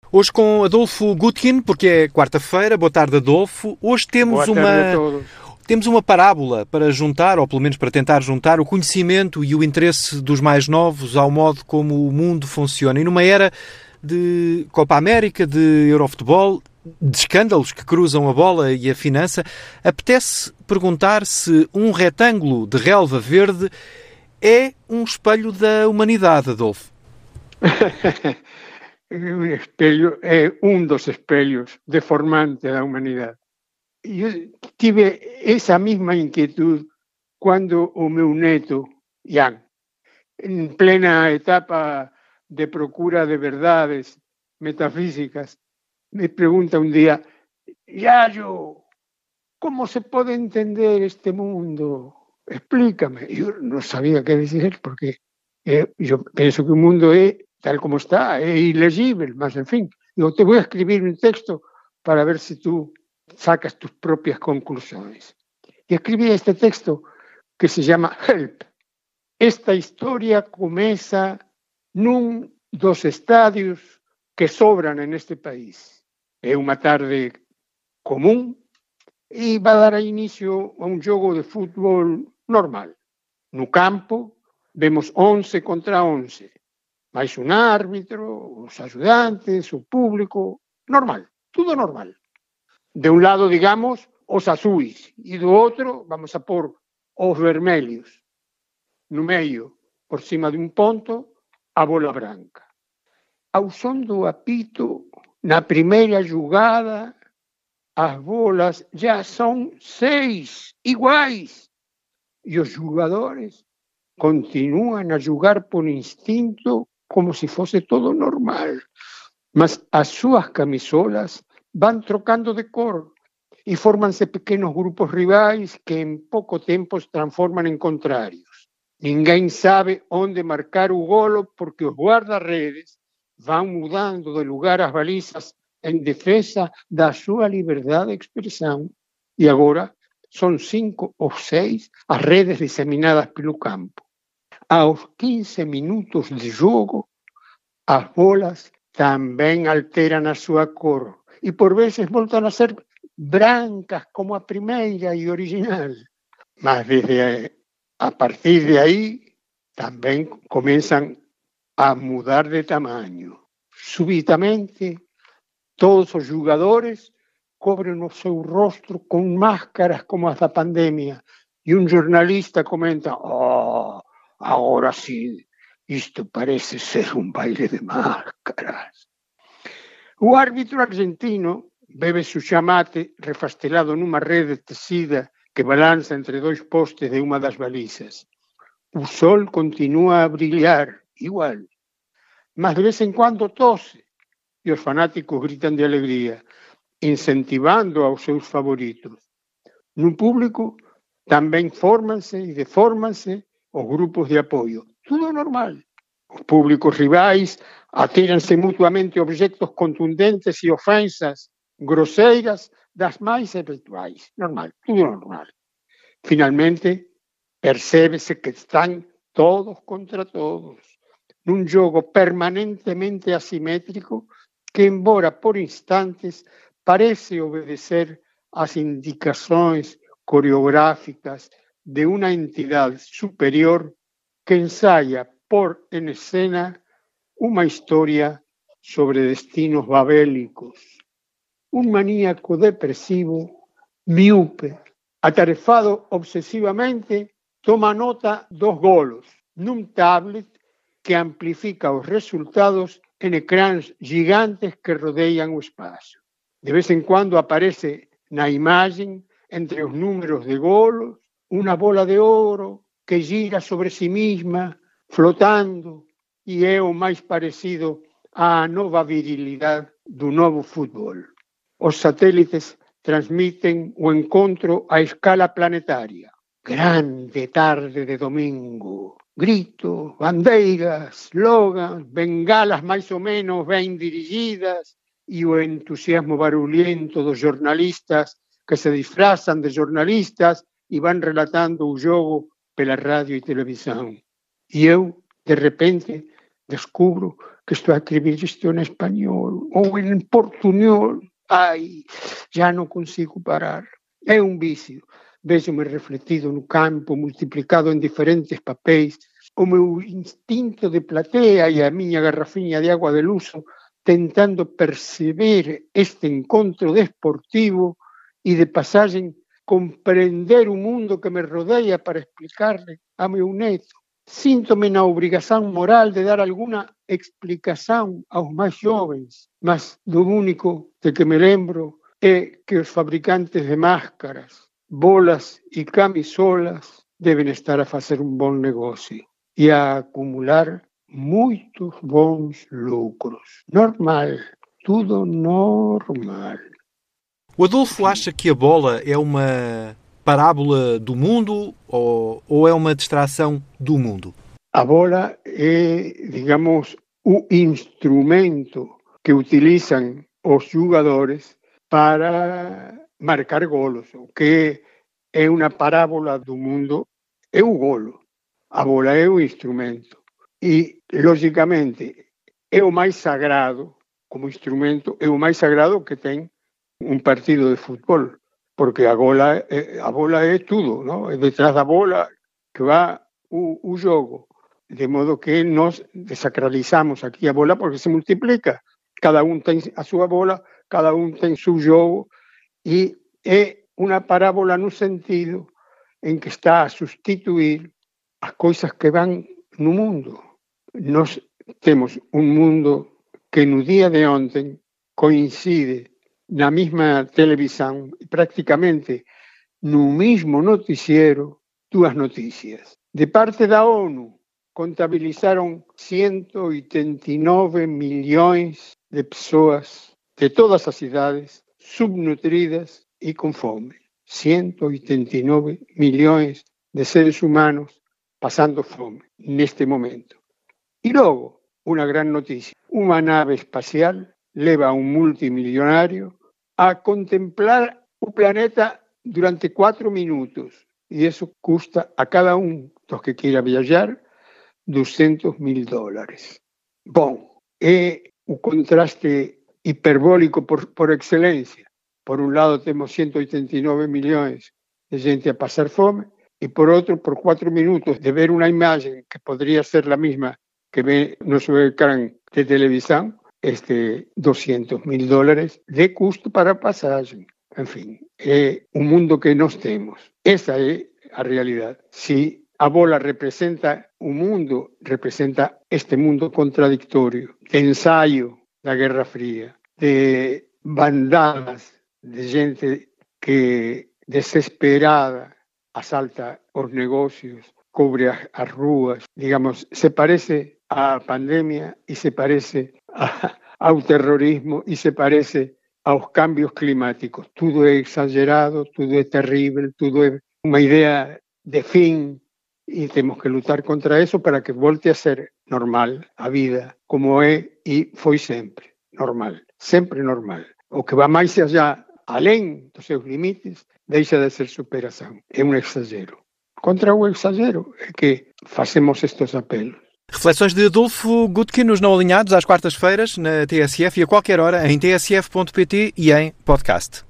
Hoje com Adolfo Gutkin, porque é quarta-feira. Boa tarde, Adolfo. Hoje temos uma parábola para juntar, ou pelo menos para tentar juntar, o conhecimento e o interesse dos mais novos ao modo como o mundo funciona. E numa era de Copa América, de Eurofutebol, de escândalos que cruzam a bola e a finança, apetece perguntar se um retângulo de relva verde é um espelho da humanidade, Adolfo. O espelho é um dos espelhos deformantes da humanidade. Eu tive essa mesma inquietude quando o meu neto, Ian, em plena etapa de procura de verdades metafísicas, me pergunta um dia: Yayo, como se pode entender este mundo? Explícame. Eu não sabia o que dizer, porque eu penso que o mundo é tal como está, é ilegível, mas en fin, eu te voy a escribir un texto para ver si tú sacas tus propias conclusiones. Y escribí este texto que se llama Help. Esta historia comeza nun dos estadios que sobran en este país. É unha tarde común e va a dar inicio a un xogo de fútbol normal. No campo vemos 11 contra 11. Mais un árbitro, os axudantes, o público, normal, tudo normal. De un lado, digamos, os azuis, e do outro, vamos a pôr os vermelhos. No meio, por cima de un ponto, a bola branca. Ao son do apito, na primeira jugada, as bolas já son 6 iguais, e os jogadores continúan a jugar por instinto como se fosse todo normal. Mas as súas camisolas van trocando de cor e fórmanse pequenos grupos rivais que en pouco tempo se transforman en contrarios. Ninguén sabe onde marcar o golo porque os guardarredes van mudando de lugar as balizas en defensa da súa liberdade de expresión. E agora son 5 ou 6 as redes diseminadas pelo campo. Aos 15 minutos de jogo, as bolas tamén alteran a súa cor e por veces voltan a ser brancas como a primeira e original. Mas a partir de aí tamén comenzan a mudar de tamaño. Súbitamente, todos os jogadores cobren o seu rostro con máscaras como as da pandemia e un jornalista comenta: agora sí, isto parece ser un baile de máscaras. O árbitro argentino bebe su chamate refastelado nunha rede tecida que balanza entre dois postes de unha das balizas. O sol continúa a brillar, igual, mas de vez en cuando tose e os fanáticos gritan de alegría, incentivando aos seus favoritos. No público tamén fórmanse e defórmanse os grupos de apoio. Tudo normal. Os públicos rivais atíranse mutuamente objetos contundentes e ofensas groseiras das máis habituais. Normal, tudo normal. Finalmente, percébese que están todos contra todos, nun jogo permanentemente asimétrico que, embora por instantes, parece obedecer as indicacións coreográficas de una entidad superior que ensaya por en escena una historia sobre destinos babélicos. Un maníaco depresivo, miúpe, atarefado obsesivamente, toma nota dos golos nun tablet que amplifica os resultados en ecráns gigantes que rodean o espacio. De vez en cuando aparece na imagen, entre os números de golos, unha bola de ouro que gira sobre si mesma, flotando, e é o máis parecido á nova virilidade do novo fútbol. Os satélites transmiten o encontro a escala planetaria. Grande tarde de domingo. Gritos, bandeiras, slogans, bengalas máis ou menos ben dirigidas e o entusiasmo barulhento dos jornalistas que se disfrazan de jornalistas e van relatando o jogo pela radio e televisión. E eu, de repente, descubro que estou a escrever isto em espanhol ou em portunhol. Ai, já não consigo parar. É um vício. Vejo-me refletido no campo, multiplicado em diferentes papéis. O meu instinto de plateia e a minha garrafinha de água de luxo tentando perceber este encontro desportivo e de passagem compreender o mundo que me rodeia para explicar-lhe a meu neto. Sinto-me na obrigação moral de dar alguma explicação aos mais jovens, mas do único de que me lembro é que os fabricantes de máscaras, bolas e camisolas devem estar a fazer um bom negócio e a acumular muitos bons lucros. Normal, tudo normal. O Adolfo acha que a bola é uma parábola do mundo ou é uma distração do mundo? A bola é, digamos, o instrumento que utilizam os jogadores para marcar golos. O que é uma parábola do mundo é o golo. A bola é o instrumento. E, logicamente, é o mais sagrado, como instrumento, é o mais sagrado que tem um partido de futebol, porque a bola é tudo, não? É detrás da bola que vai o jogo, de modo que nós desacralizamos aqui a bola porque se multiplica, cada um tem a sua bola, cada um tem seu jogo, e é uma parábola no sentido em que está a substituir as coisas que vão no mundo. Nós temos um mundo que no dia de ontem coincide na mesma televisão, praticamente no mesmo noticiero, duas notícias. De parte da ONU, contabilizaram 189 milhões de pessoas de todas as idades, subnutridas e com fome. 189 milhões de seres humanos passando fome neste momento. E logo, uma grande notícia, uma nave espacial leva a um multimilionário a contemplar o planeta durante 4 minutos. E isso custa a cada um dos que queira viajar $200.000. Bom, é o contraste hiperbólico por excelência. Por um lado temos 189 milhões de gente a passar fome e por outro, por 4 minutos de ver uma imagem que poderia ser a mesma que vê no seu ecrã de televisão, $200.000 de custo para a passagem. Enfim, é o mundo que nós temos. Essa é a realidade. Se a bola representa o mundo, representa este mundo contraditório, de ensaio da Guerra Fria, de bandadas de gente que, desesperada, asalta os negócios, cobre as ruas. Digamos, se parece à pandemia e se parece ao terrorismo e se parece aos cambios climáticos. Tudo é exagerado, tudo é terrível, tudo é uma ideia de fim e temos que lutar contra isso para que volte a ser normal a vida, como é e foi sempre normal, sempre normal. O que vai mais allá, além dos seus limites, deixa de ser superação. É um exagero. Contra o exagero é que fazemos estes apelos. Reflexões de Adolfo Gutkin nos Não Alinhados às quartas-feiras na TSF e a qualquer hora em tsf.pt e em podcast.